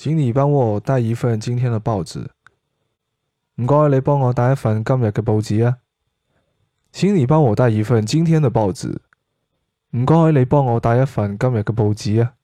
請你幫我帶一份今天的報紙。唔該，你幫我帶一份今日嘅報紙啊。請你幫我帶一份今天的報紙。唔該，你幫我帶一份今日嘅報紙啊。